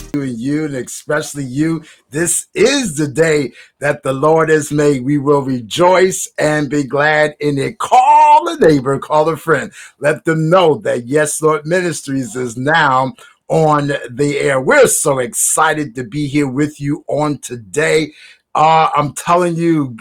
you and especially you. This is the day that the Lord has made. We will rejoice and be glad in it. Call a neighbor, call a friend. Let them know that Yes Lord Ministries is now on the air. We're so excited to be here with you on today. I'm telling you,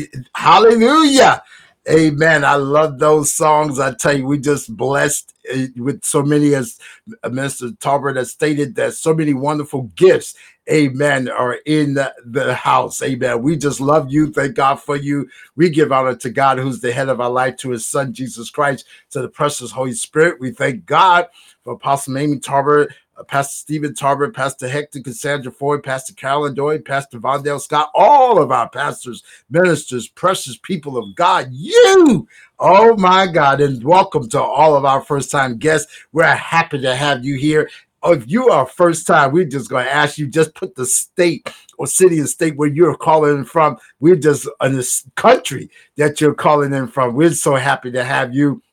hallelujah. Amen. I love those songs. I tell you, we just blessed with so many, as Minister Talbert has stated, that so many wonderful gifts, amen, are in the house. Amen. We just love you. Thank God for you. We give honor to God, who's the head of our life, to his son, Jesus Christ, to the precious Holy Spirit. We thank God for Apostle Amy Talbert, Pastor Stephen Talbert, Pastor Hector Cassandra Ford, Pastor Carolyn Doyle, Pastor Vondell Scott, all of our pastors, ministers, precious people of God. You, oh my God, and welcome to all of our first-time guests. We're happy to have you here. If you are first time, we're just going to ask you, just put the state or city and state where you're calling in from. We're just in this country that you're calling in from. We're so happy to have you.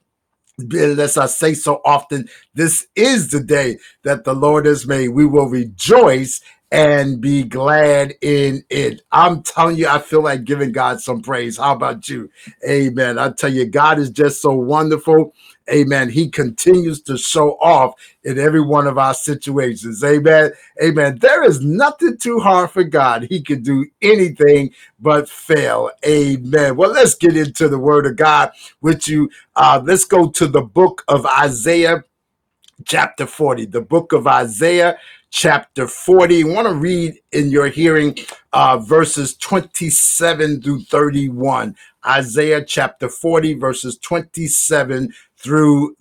As I say so often, this is the day that the Lord has made. We will rejoice and be glad in it. I'm telling you, I feel like giving God some praise. How about you? Amen. I tell you, God is just so wonderful. Amen. He continues to show off in every one of our situations. Amen. Amen. There is nothing too hard for God. He can do anything but fail. Amen. Well, let's get into the word of God with you. Let's go to the book of Isaiah, chapter 40. The book of Isaiah, chapter 40. I want to read in your hearing verses 27 through 31. Isaiah chapter 40, verses 27 through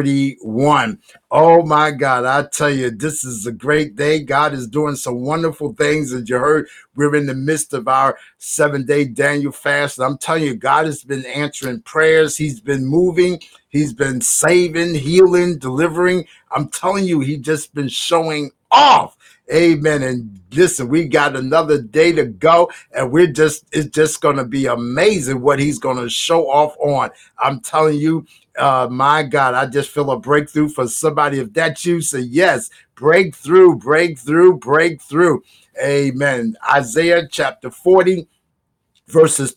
31. Oh my God, I tell you, this is a great day. God is doing some wonderful things. As you heard, we're in the midst of our 7-day Daniel fast. I'm telling you, God has been answering prayers. He's been moving. He's been saving, healing, delivering. I'm telling you, he's just been showing off. Amen. And listen, we got another day to go, and it's just going to be amazing what he's going to show off on. I'm telling you, my God, I just feel a breakthrough for somebody. If that's you, say yes, breakthrough, breakthrough, breakthrough. Amen. Isaiah chapter 40, verses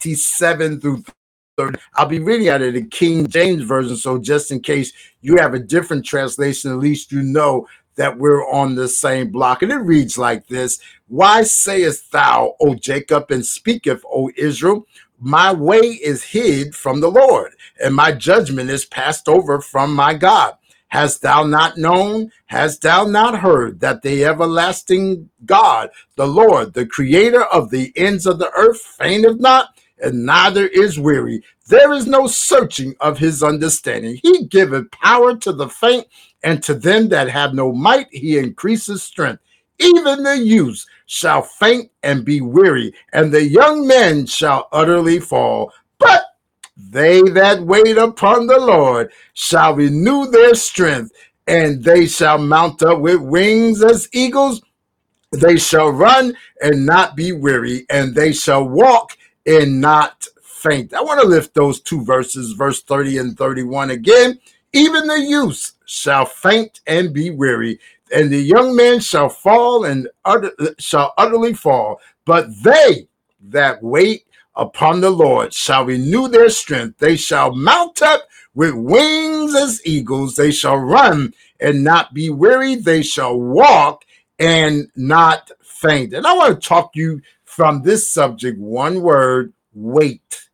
27 through 30. I'll be reading out of the King James Version, so just in case you have a different translation, at least you know that we're on the same block. And it reads like this: Why sayest thou, O Jacob, and speaketh, O Israel, my way is hid from the Lord, and my judgment is passed over from my God? Hast thou not known? Hast thou not heard that the everlasting God, the Lord, the creator of the ends of the earth, fainteth not, and neither is weary? There is no searching of his understanding. He giveth power to the faint, and to them that have no might he increases strength. Even the youths shall faint and be weary, and the young men shall utterly fall. But they that wait upon the Lord shall renew their strength, and they shall mount up with wings as eagles. They shall run and not be weary, and they shall walk and not faint. I want to lift those two verses, verse 30 and 31 again. Even the youths shall faint and be weary, and the young men shall fall and shall utterly fall. But they that wait upon the Lord shall renew their strength. They shall mount up with wings as eagles. They shall run and not be weary. They shall walk and not faint. And I want to talk to you from this subject, one word: wait.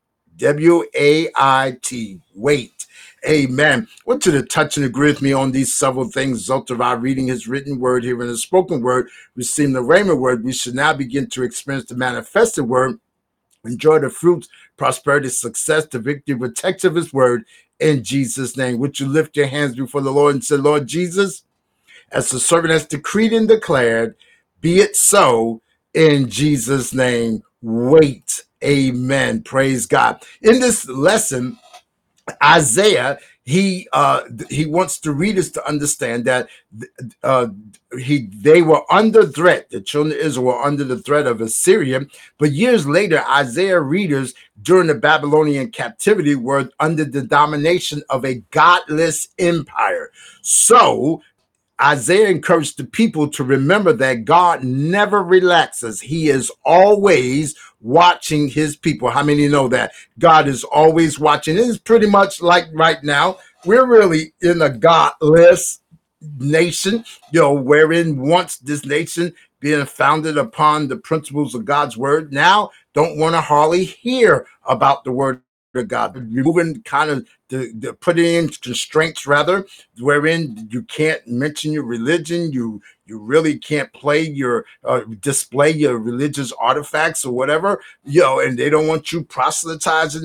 W-A-I-T, wait. Amen. I want you to touch and agree with me on these several things. Result of our reading his written word, here in the spoken word, receiving the rhema word, we should now begin to experience the manifested word, enjoy the fruits, prosperity, success, the victory, protection of his word, in Jesus' name. Would you lift your hands before the Lord and say, Lord Jesus, as the servant has decreed and declared, be it so in Jesus' name. Wait. Amen. Praise God. In this lesson, Isaiah, he wants the readers to understand that they were under threat. The children of Israel were under the threat of Assyria. But years later, Isaiah readers during the Babylonian captivity were under the domination of a godless empire. So Isaiah encouraged the people to remember that God never relaxes. He is always watching his people. How many know that? God is always watching. It is pretty much like right now, we're really in a godless nation, wherein once this nation being founded upon the principles of God's word, now don't want to hardly hear about the word of God, removing kind of the putting in constraints rather, wherein you can't mention your religion, you really can't play your display your religious artifacts or whatever, and they don't want you proselytizing,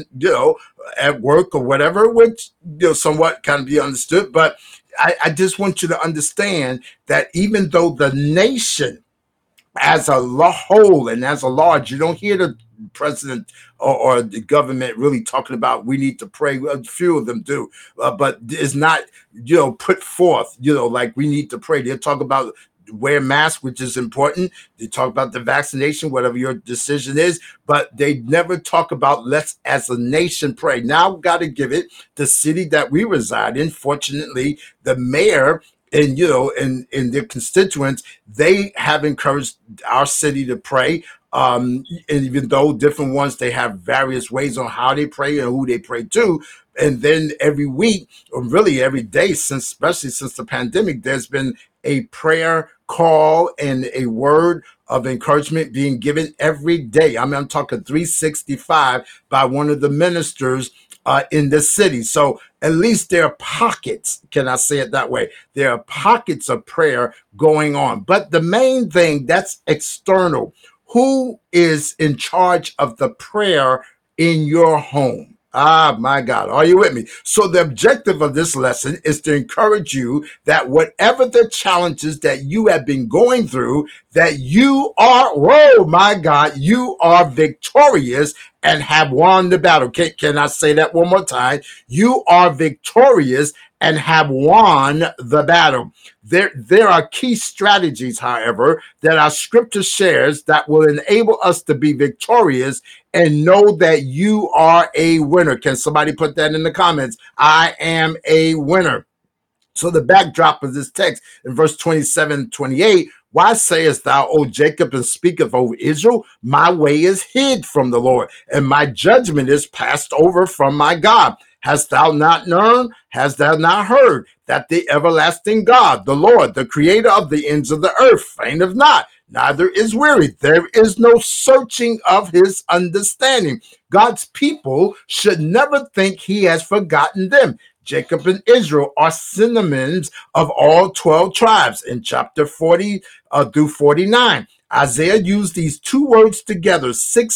at work or whatever, which somewhat can be understood. But I just want you to understand that even though the nation as a whole and as a large, you don't hear the president or the government really talking about we need to pray. A few of them do, but it's not put forth like we need to pray. They'll talk about wear masks, which is important. They talk about the vaccination, whatever your decision is, but they never talk about let's as a nation pray. Now got to give it the city that we reside in. Fortunately, the mayor and and their constituents, they have encouraged our city to pray. And even though different ones, they have various ways on how they pray and who they pray to. And then every week, or really every day, especially since the pandemic, there's been a prayer call and a word of encouragement being given every day. I mean, I'm talking 365 by one of the ministers in the city. So at least there are pockets, can I say it that way? There are pockets of prayer going on. But the main thing, that's external. Who is in charge of the prayer in your home? Ah, my God. Are you with me? So the objective of this lesson is to encourage you that whatever the challenges that you have been going through, that you are, whoa, my God, you are victorious and have won the battle. Can I say that one more time? You are victorious and have won the battle. There are key strategies, however, that our scripture shares that will enable us to be victorious and know that you are a winner. Can somebody put that in the comments? I am a winner. So the backdrop of this text in verse 27, 28, why sayest thou, O Jacob, and speaketh over Israel? My way is hid from the Lord, and my judgment is passed over from my God. Hast thou not known? Hast thou not heard that the everlasting God, the Lord, the creator of the ends of the earth, fainteth not, neither is weary. There is no searching of his understanding. God's people should never think he has forgotten them. Jacob and Israel are synonyms of all 12 tribes in chapter 40 through 49. Isaiah used these two words together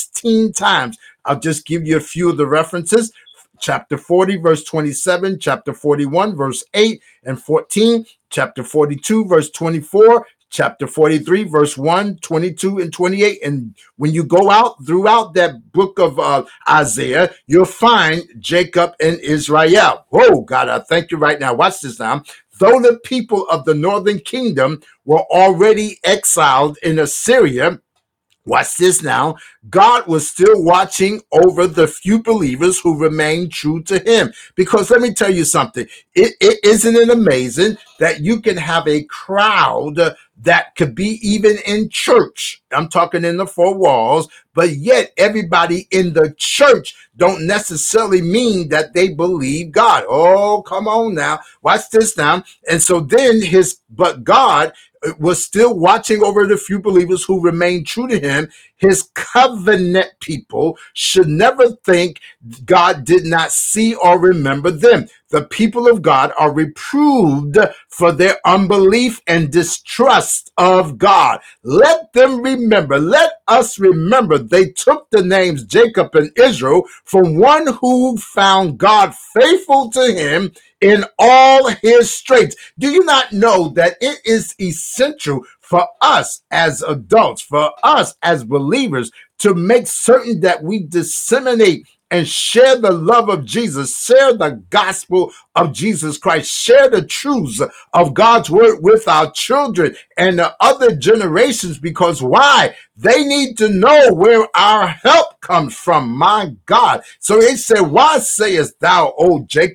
16 times. I'll just give you a few of the references. Chapter 40, verse 27, chapter 41, verse 8 and 14, chapter 42, verse 24, chapter 43, verse 1, 22, and 28. And when you go out throughout that book of Isaiah, you'll find Jacob and Israel. Oh, God, I thank you right now. Watch this now. Though the people of the northern kingdom were already exiled in Assyria, watch this now. God was still watching over the few believers who remained true to him. Because let me tell you something. Isn't it amazing that you can have a crowd that could be even in church? I'm talking in the four walls, but yet everybody in the church don't necessarily mean that they believe God. Oh, come on now. Watch this now. And so then but God was still watching over the few believers who remained true to him. His covenant people should never think God did not see or remember them. The people of God are reproved for their unbelief and distrust of God. Let them remember, let us remember, they took the names Jacob and Israel from one who found God faithful to him in all his straits. Do you not know that it is essential for us as adults, for us as believers, to make certain that we disseminate and share the love of Jesus, share the gospel of Jesus Christ, share the truths of God's word with our children and the other generations? Because why? They need to know where our help comes from, my God. So he said, why sayest thou, O Jacob?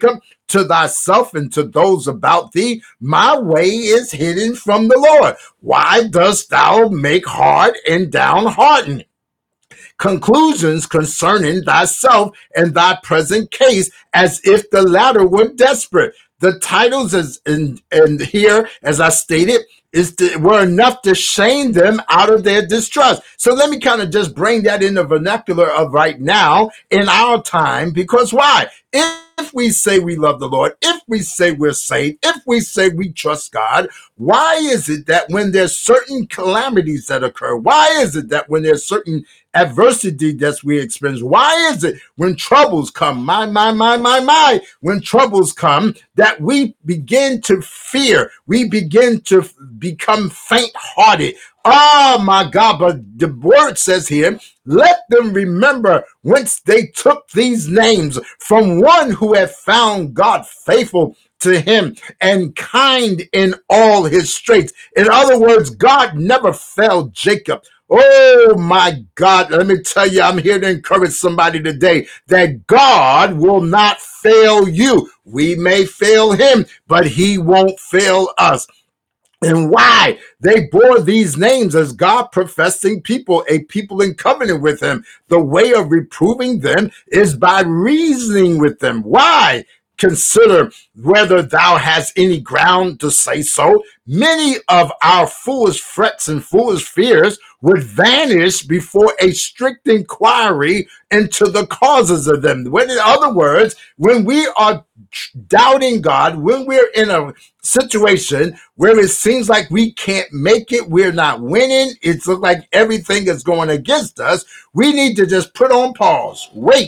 to thyself and to those about thee, my way is hidden from the Lord. Why dost thou make hard and downhearted conclusions concerning thyself and thy present case, as if the latter were desperate? The titles is in here, as I stated, were enough to shame them out of their distrust. So let me kind of just bring that in the vernacular of right now in our time, because why? If we say we love the Lord, if we say we're saved, if we say we trust God, why is it that when there's certain calamities that occur, why is it that when there's certain adversity that we experience, why is it when troubles come, when troubles come, that we begin to fear, we begin to become faint-hearted? Oh my God, but the word says here, let them remember whence they took these names, from one who had found God faithful to him and kind in all his straits. In other words, God never failed Jacob. Oh my God, let me tell you, I'm here to encourage somebody today that God will not fail you. We may fail him, but he won't fail us. And why? They bore these names as God professing people, a people in covenant with him. The way of reproving them is by reasoning with them. Why? Consider whether thou hast any ground to say so. Many of our foolish frets and foolish fears would vanish before a strict inquiry into the causes of them. When, in other words, when we are doubting God, when we're in a situation where it seems like we can't make it, we're not winning, it looks like everything is going against us, we need to just put on pause. Wait.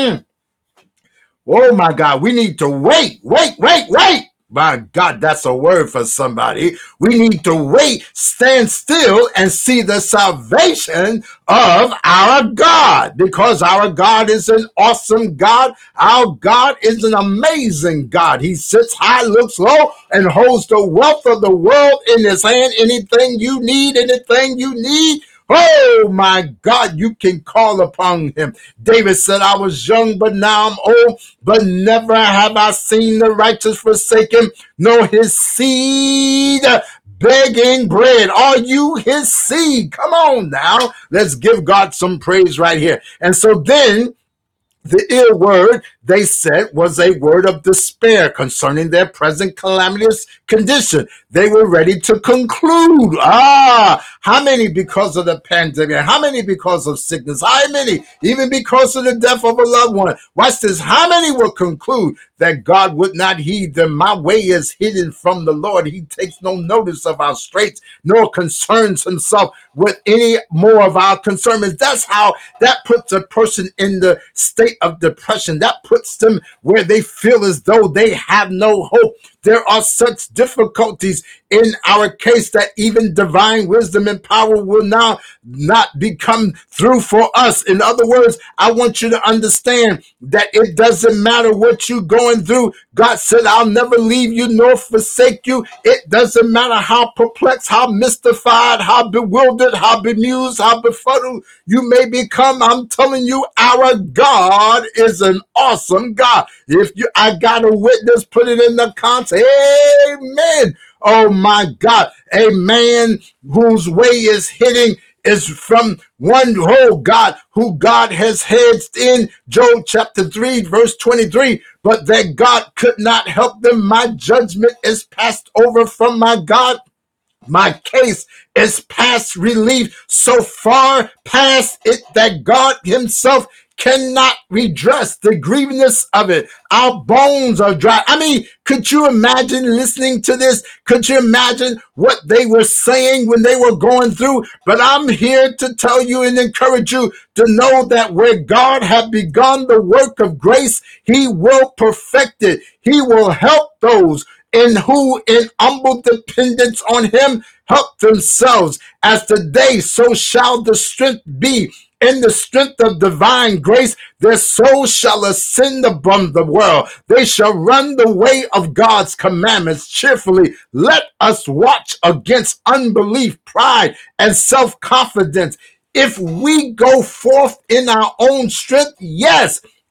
Oh my God, we need to wait. My God, that's a word for somebody. We need to wait, stand still, and see the salvation of our God, because our God is an awesome God. Our God is an amazing God. He sits high, looks low, and holds the wealth of the world in his hand. Anything you need, oh my God, you can call upon him. David said, I was young, but now I'm old, but never have I seen the righteous forsaken, nor his seed begging bread. Are you his seed? Come on now. Let's give God some praise right here. And so then the ill word they said was a word of despair concerning their present calamitous condition. They were ready to conclude. How many because of the pandemic? How many because of sickness? How many even because of the death of a loved one? Watch this. How many will conclude that God would not heed them? My way is hidden from the Lord. He takes no notice of our straits, nor concerns himself with any more of our concerns. That's how that puts a person in the state of depression. That puts them where they feel as though they have no hope. There are such difficulties in our case that even divine wisdom and power will now not become through for us. In other words, I want you to understand that it doesn't matter what you're going through. God said, I'll never leave you nor forsake you. It doesn't matter how perplexed, how mystified, how bewildered, how bemused, how befuddled you may become. I'm telling you, our God is an awesome God. If I got a witness, put it in the comments. Amen. Oh my God. A man whose way is hidden is from one whole God who God has hedged in. Job chapter 3 verse 23. But that God could not help them. My judgment is passed over from my God. My case is past relief, so far past it that God himself cannot redress the grievousness of it. Our bones are dry. I mean, could you imagine listening to this? Could you imagine what they were saying when they were going through? But I'm here to tell you and encourage you to know that where God had begun the work of grace, he will perfect it. He will help those and who in humble dependence on him help themselves. As today, so shall the strength be. In the strength of divine grace, their soul shall ascend above the world. They shall run the way of God's commandments cheerfully. Let us watch against unbelief, pride, and self-confidence. If we go forth in our own strength, yes,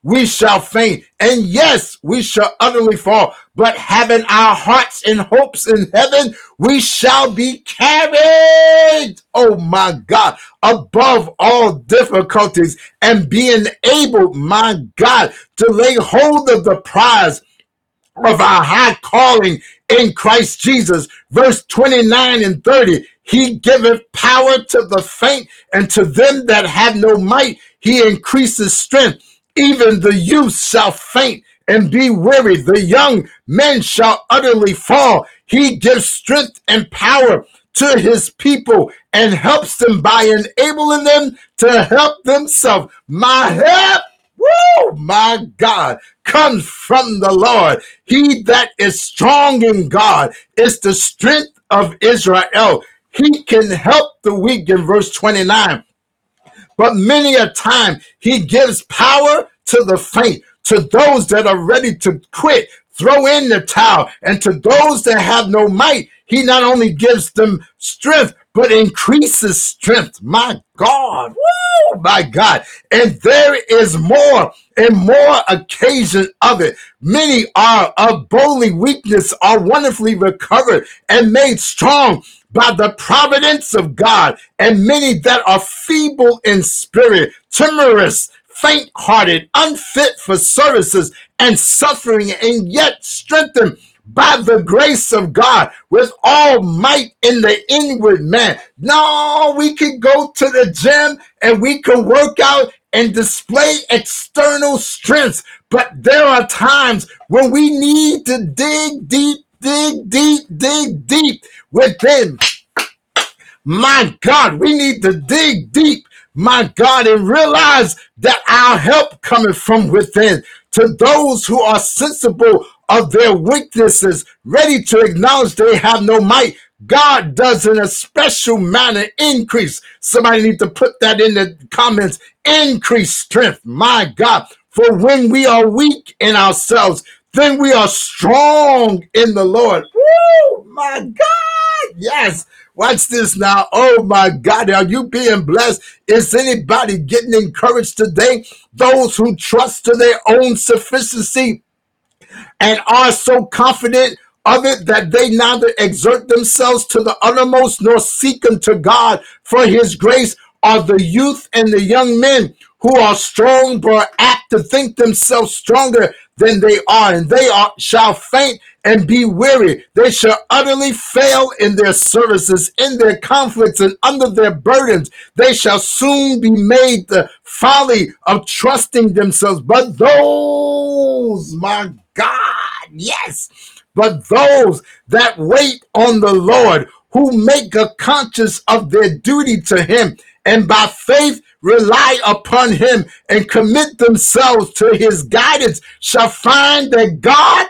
we shall faint. And yes, we shall utterly fall. But having our hearts and hopes in heaven, we shall be carried, oh my God, above all difficulties and being able, my God, to lay hold of the prize of our high calling in Christ Jesus. Verse 29 and 30, he giveth power to the faint, and to them that have no might, he increases strength. Even the youth shall faint and be weary. The young men shall utterly fall. He gives strength and power to his people and helps them by enabling them to help themselves. My help, woo, my God, comes from the Lord. He that is strong in God is the strength of Israel. He can help the weak in verse 29. But many a time he gives power to the faint, to those that are ready to quit, throw in the towel, and to those that have no might, he not only gives them strength, but increases strength. My God, woo, my God. And there is more and more occasion of it. Many are of bodily weakness are wonderfully recovered and made strong by the providence of God, and many that are feeble in spirit, timorous, faint-hearted, unfit for services, and suffering, and yet strengthened by the grace of God with all might in the inward man. No, we can go to the gym and we can work out and display external strengths, but there are times when we need to dig deep within. My God, we need to dig deep, my God, and realize that our help cometh from within. To those who are sensible of their weaknesses, ready to acknowledge they have no might, God does in a special manner increase. Somebody need to put that in the comments. Increase strength, my God. For when we are weak in ourselves, then we are strong in the Lord. Woo, my God. Yes. Watch this now. Oh my God. Are you being blessed? Is anybody getting encouraged today? Those who trust to their own sufficiency and are so confident of it that they neither exert themselves to the uttermost nor seek unto God for his grace are the youth and the young men who are strong but are apt to think themselves stronger than they are, and they shall faint and be weary. They shall utterly fail in their services, in their conflicts, and under their burdens. They shall soon be made the folly of trusting themselves. But those, my God, yes, but those that wait on the Lord, who make a conscience of their duty to him, and by faith rely upon him and commit themselves to his guidance, shall find that God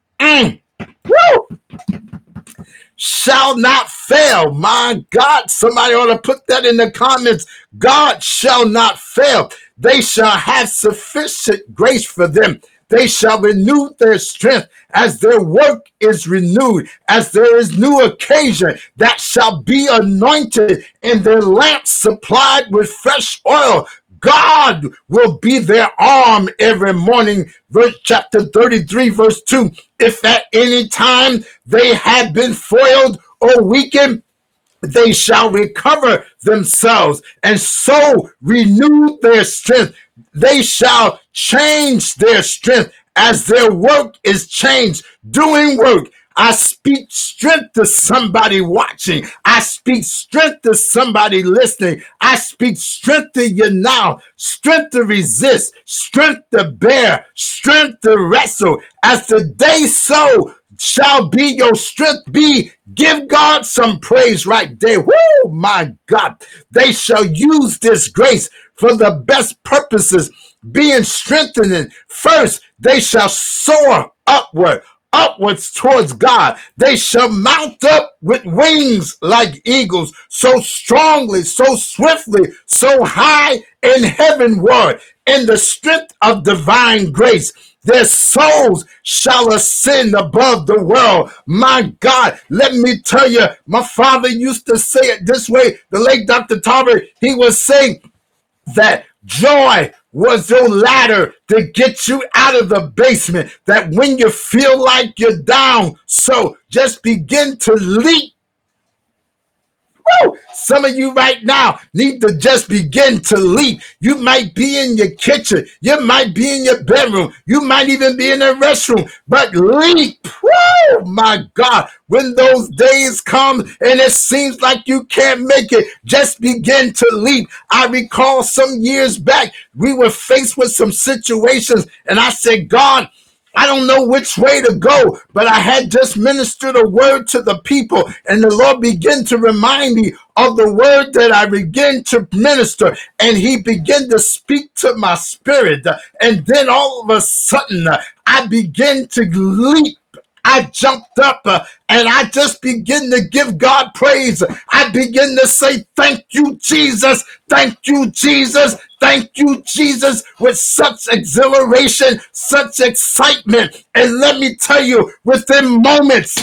shall not fail. My God, somebody ought to put that in the comments. God shall not fail. They shall have sufficient grace for them. They shall renew their strength as their work is renewed, as there is new occasion that shall be anointed and their lamps supplied with fresh oil. God will be their arm every morning. Chapter 33, verse 2. If at any time they have been foiled or weakened, they shall recover themselves and so renew their strength. They shall change their strength as their work is changed. Doing work. I speak strength to somebody watching. I speak strength to somebody listening. I speak strength to you now. Strength to resist. Strength to bear. Strength to wrestle. As the day so shall be your strength be. Give God some praise right there. Woo, my God. They shall use this grace for the best purposes, being strengthened. First, they shall soar upwards towards God. They shall mount up with wings like eagles, so strongly, so swiftly, so high in heavenward, in the strength of divine grace. Their souls shall ascend above the world. My God, let me tell you, my father used to say it this way. The late Dr. Talbert, he was saying that joy was your ladder to get you out of the basement. That when you feel like you're down, so just begin to leap. Woo! Some of you right now need to just begin to leap. You might be in your kitchen. You might be in your bedroom. You might even be in the restroom. But leap. Woo! My God. When those days come and it seems like you can't make it, just begin to leap. I recall some years back, we were faced with some situations and I said, God, I don't know which way to go, but I had just ministered a word to the people, and the Lord began to remind me of the word that I began to minister, and he began to speak to my spirit, and then all of a sudden, I began to leap. I jumped up and I just begin to give God praise. I begin to say, thank you, Jesus. Thank you, Jesus. Thank you, Jesus, with such exhilaration, such excitement. And let me tell you, within moments,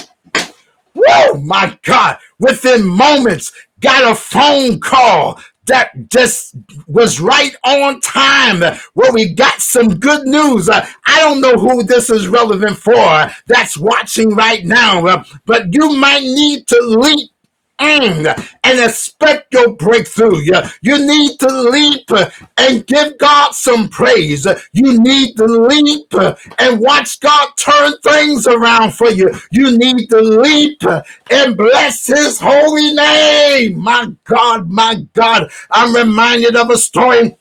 whoa, my God, within moments, got a phone call that just was right on time, where we got some good news. I don't know who this is relevant for that's watching right now, but you might need to leap and expect your breakthrough. You need to leap and give God some praise. You need to leap and watch God turn things around for you. You need to leap and bless his holy name. My God, I'm reminded of a story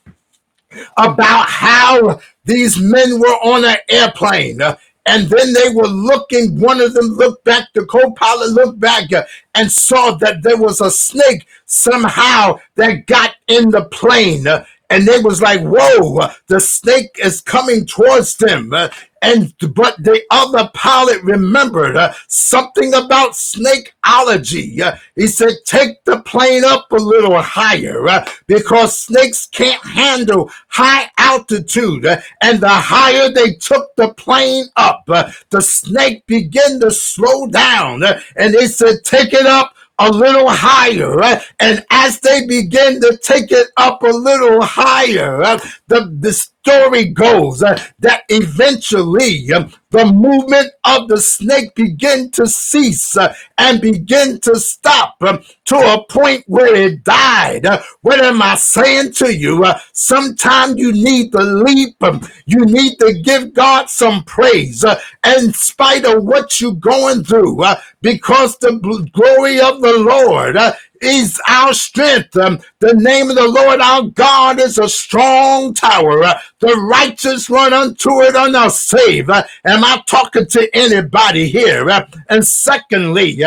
about how these men were on an airplane. And then they were looking, one of them looked back, the co-pilot looked back and saw that there was a snake somehow that got in the plane. And they was like, whoa, the snake is coming towards them. But the other pilot remembered something about snakeology. He said, take the plane up a little higher because snakes can't handle high altitude. And the higher they took the plane up, the snake began to slow down. And they said, take it up a little higher, and as they begin to take it up a little higher, the story goes that eventually the movement of the snake began to cease and begin to stop to a point where it died. What am I saying to you? Sometimes you need to leap. You need to give God some praise in spite of what you're going through, because the glory of the Lord is our strength. The name of the Lord our God is a strong tower. The righteous run unto it and are saved. Am I talking to anybody here? And secondly,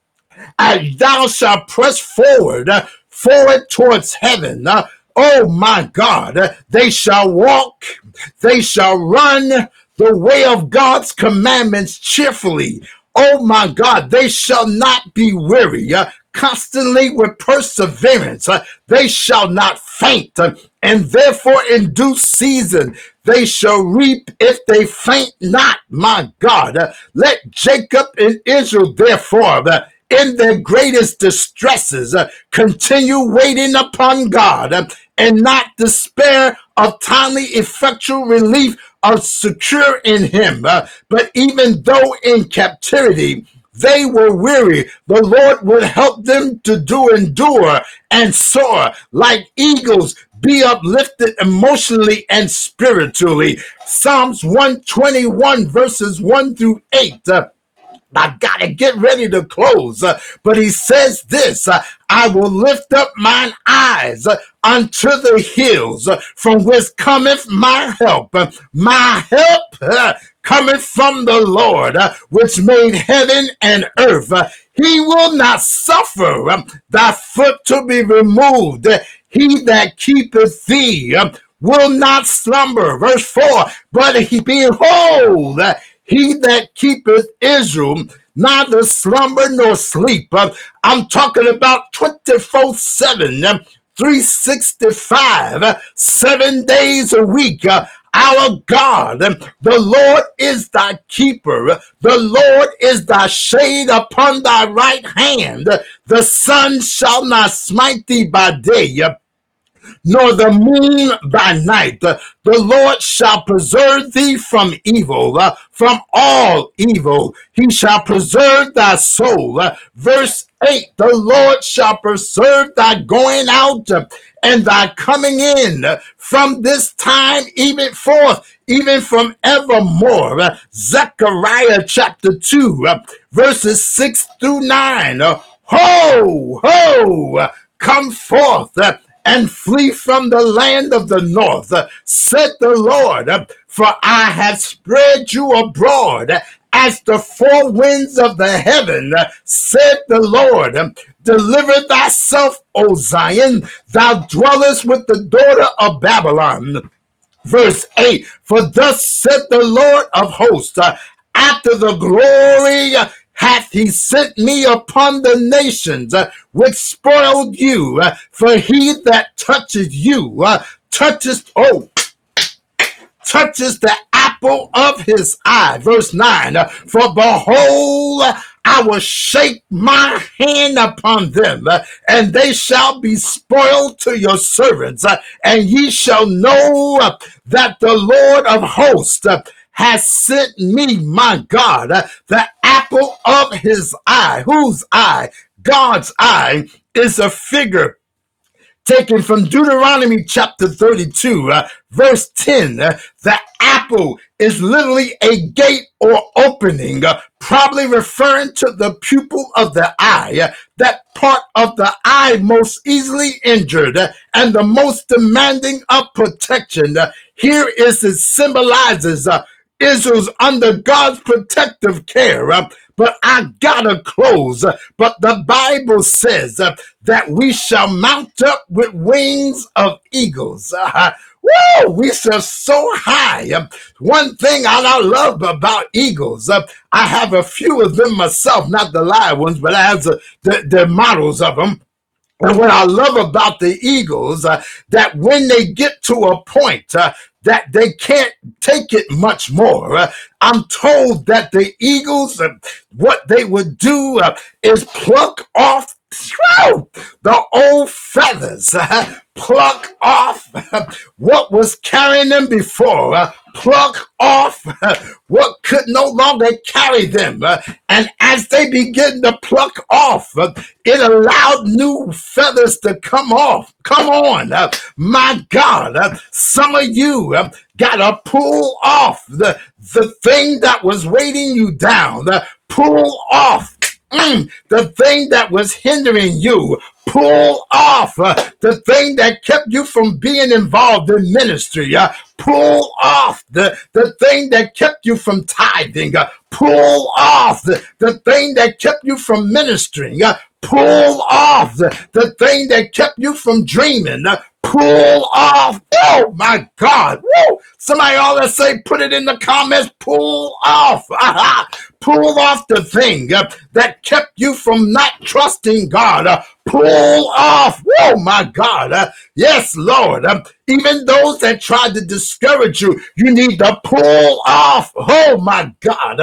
thou shalt press forward towards heaven. Oh my God, they shall walk, they shall run the way of God's commandments cheerfully. Oh my God, they shall not be weary. Constantly with perseverance, they shall not faint, and therefore in due season they shall reap if they faint not. My God, let Jacob and Israel therefore in their greatest distresses continue waiting upon God and not despair of timely effectual relief are secure in him. But even though in captivity they were weary, the Lord would help them to endure and soar like eagles, be uplifted emotionally and spiritually. Psalms 121 verses 1 through 8. I gotta get ready to close, but he says this, I will lift up mine eyes unto the hills, from which cometh my help. My help cometh from the Lord, which made heaven and earth. He will not suffer thy foot to be removed. He that keepeth thee will not slumber. Verse 4, but behold, he that keepeth Israel, neither slumber nor sleep. I'm talking about 24/7, 365, 7 days a week. Our God, the Lord is thy keeper. The Lord is thy shade upon thy right hand. The sun shall not smite thee by day, nor the moon by night. The Lord shall preserve thee from evil, from all evil. He shall preserve thy soul. Verse 8, the Lord shall preserve thy going out and thy coming in from this time even forth, even from evermore. Zechariah chapter 2, verses 6 through 9. Ho, ho, come forth and flee from the land of the north, said the Lord, for I have spread you abroad as the four winds of the heaven, said the Lord. Deliver thyself, O Zion, thou dwellest with the daughter of Babylon. Verse 8, for thus said the Lord of hosts, after the glory hath he sent me upon the nations which spoiled you, for he that touches you touches the apple of his eye. Verse 9, for behold, I will shake my hand upon them, and they shall be spoiled to your servants, and ye shall know that the Lord of hosts has sent me, my God, the apple of his eye. Whose eye? God's eye is a figure taken from Deuteronomy chapter 32, verse 10. The apple is literally a gate or opening, probably referring to the pupil of the eye, that part of the eye most easily injured and the most demanding of protection. Here is it symbolizes Israel's under God's protective care. But I gotta close. But the Bible says that we shall mount up with wings of eagles. Woo! We shall so high. One thing I love about eagles, I have a few of them myself, not the live ones, but I have the models of them. And what I love about the eagles, that when they get to a point that they can't take it much more, I'm told that the eagles, what they would do is pluck off the old feathers, pluck off what was carrying them before, pluck off what could no longer carry them. And as they begin to pluck off, it allowed new feathers to come off. Come on, my God, some of you got to pull off the thing that was weighting you down, pull off the thing that was hindering you. Pull off the thing that kept you from being involved in ministry. Pull off the thing that kept you from tithing. Pull off the thing that kept you from ministering. Pull off the thing that kept you from dreaming. Pull off. Oh my God. Woo. Somebody ought to say, put it in the comments. Pull off. Pull off the thing that kept you from not trusting God. Pull off. Oh my God. Yes, Lord. Even those that tried to discourage you, you need to pull off. Oh my God.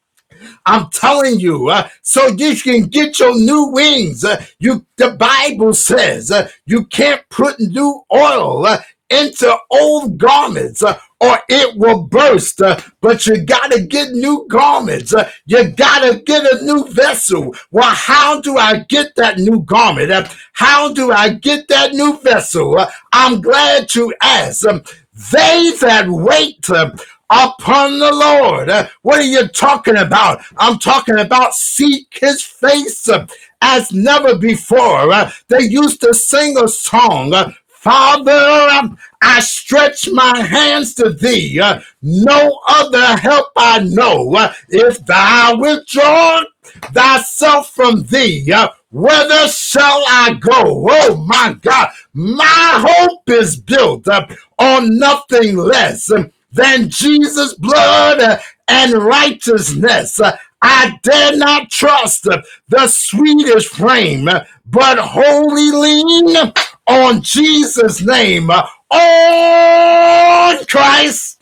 I'm telling you, so you can get your new wings. The Bible says you can't put new oil into old garments or it will burst. But you got to get new garments. You got to get a new vessel. Well, how do I get that new garment? How do I get that new vessel? I'm glad to ask. They that wait upon the Lord. What are you talking about? I'm talking about seek his face as never before. They used to sing a song, Father, I stretch my hands to thee. No other help I know. If thou withdraw thyself from thee, whither shall I go? Oh my God, my hope is built on nothing less than Jesus' blood and righteousness. I dare not trust the sweetest frame, but wholly lean on Jesus' name. On Christ.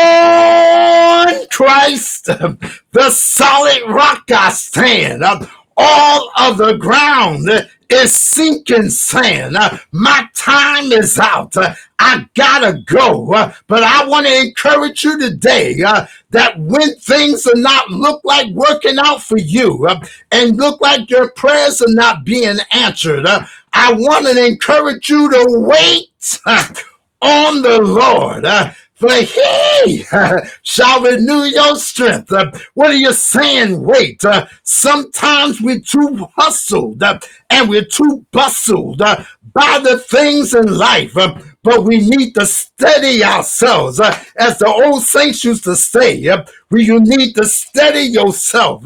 On Christ, the solid rock I stand. All of the ground is sinking sand. My time is out. I gotta go. But I want to encourage you today that when things are not look like working out for you and look like your prayers are not being answered, I want to encourage you to wait on the Lord. For he shall renew your strength. What are you saying? Wait. Sometimes we're too hustled and we're too bustled by the things in life. But we need to steady ourselves. As the old saints used to say, you need to steady yourself.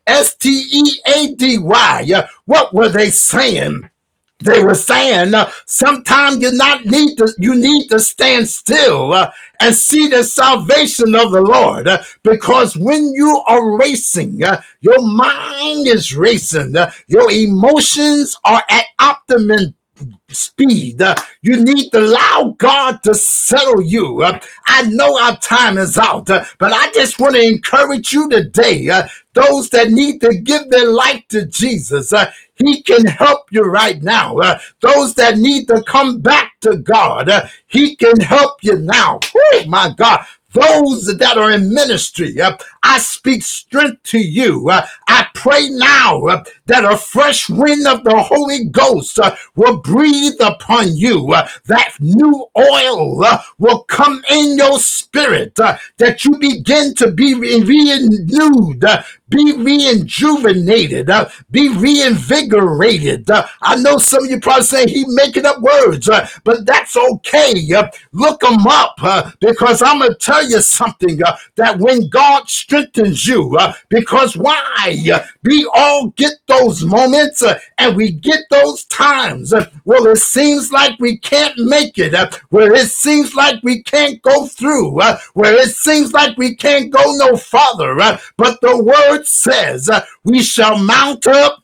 STEADY. What were they saying? They were saying sometimes you need to stand still and see the salvation of the Lord, because when you are racing, your mind is racing, your emotions are at optimum speed. You need to allow God to settle you. I know our time is out, but I just want to encourage you today, those that need to give their life to Jesus. He can help you right now. Those that need to come back to God, he can help you now. Oh my God. Those that are in ministry, I speak strength to you. I pray now that a fresh wind of the Holy Ghost will breathe upon you. That new oil will come in your spirit, that you begin to be renewed, be rejuvenated, be reinvigorated. I know some of you probably saying he making up words, but that's okay. Look them up, because I'm going to tell you something, that when God strengthens you, because why? We all get those moments and we get those times where it seems like we can't make it, where it seems like we can't go through, where it seems like we can't go no farther, but the word says we shall mount up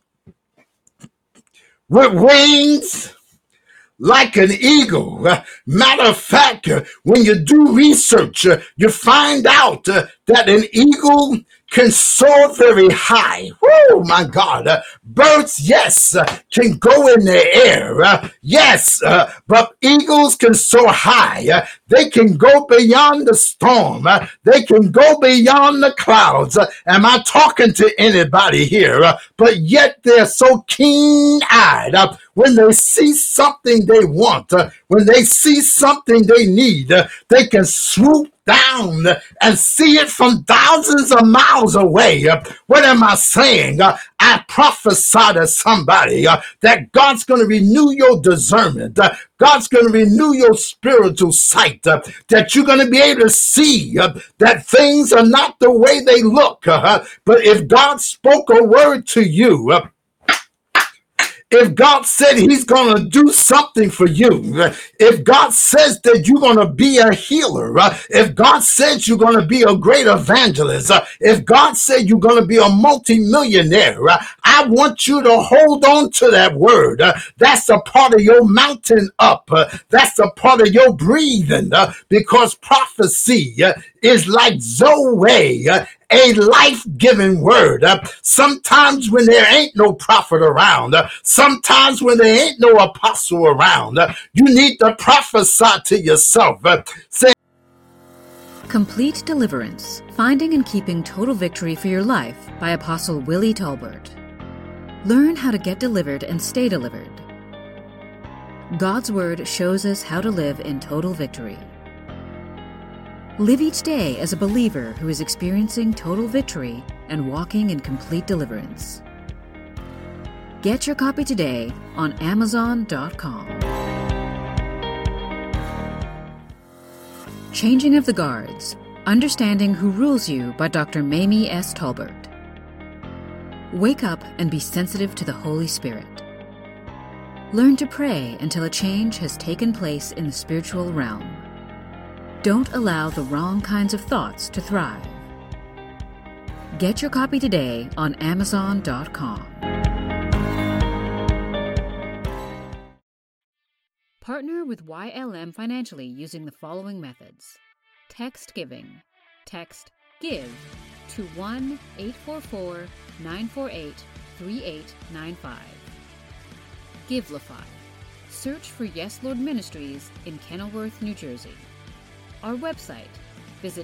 with wings like an eagle. Matter of fact, when you do research, you find out that an eagle can soar very high. Oh my God. Birds, yes, can go in the air. Yes, but eagles can soar high. They can go beyond the storm. They can go beyond the clouds. Am I talking to anybody here? But yet they're so keen-eyed. When they see something they want, when they see something they need, they can swoop down and see it from thousands of miles away. What am I saying? I prophesy to somebody that God's going to renew your discernment. God's going to renew your spiritual sight, that you're going to be able to see that things are not the way they look. But if God spoke a word to you, if God said he's going to do something for you, if God says that you're going to be a healer, if God says you're going to be a great evangelist, if God said you're going to be a multimillionaire, I want you to hold on to that word. That's a part of your mountain up. That's a part of your breathing, because prophecy is like Zoe, a life-giving word. Sometimes when there ain't no prophet around, sometimes when there ain't no apostle around, you need to prophesy to yourself. Say, Complete Deliverance, Finding and Keeping Total Victory for Your Life by Apostle Willie Tolbert. Learn how to get delivered and stay delivered. God's Word shows us how to live in total victory. Live each day as a believer who is experiencing total victory and walking in complete deliverance. Get your copy today on Amazon.com. Changing of the Guards, Understanding Who Rules You by Dr. Mamie S. Tolbert. Wake up and be sensitive to the Holy Spirit. Learn to pray until a change has taken place in the spiritual realm. Don't allow the wrong kinds of thoughts to thrive. Get your copy today on Amazon.com. Partner with YLM financially using the following methods. Text giving. Text GIVE to 1-844-948-5600. 3895. Givelify. Search for Yes Lord Ministries in Kenilworth, New Jersey. Our website. Visit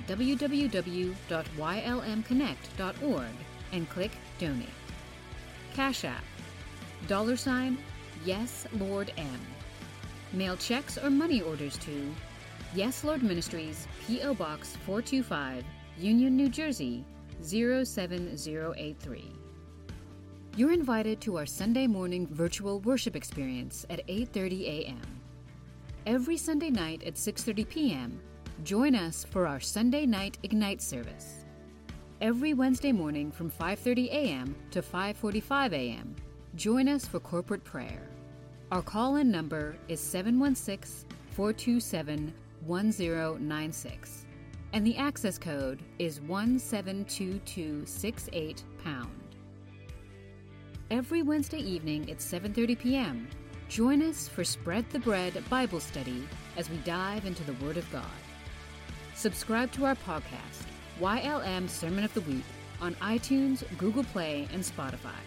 www.ylmconnect.org and click Donate. Cash App. $ Yes Lord M. Mail checks or money orders to Yes Lord Ministries, P.O. Box 425, Union, New Jersey 07083. You're invited to our Sunday morning virtual worship experience at 8:30 a.m. Every Sunday night at 6:30 p.m., join us for our Sunday night Ignite service. Every Wednesday morning from 5:30 a.m. to 5:45 a.m., join us for corporate prayer. Our call-in number is 716-427-1096, and the access code is 172268#. Every Wednesday evening at 7:30 p.m., join us for Spread the Bread Bible Study as we dive into the Word of God. Subscribe to our podcast, YLM Sermon of the Week, on iTunes, Google Play, and Spotify.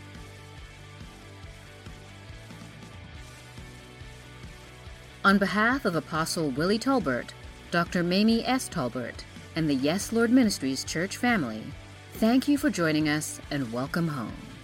On behalf of Apostle Willie Tolbert, Dr. Mamie S. Tolbert, and the Yes Lord Ministries church family, thank you for joining us and welcome home.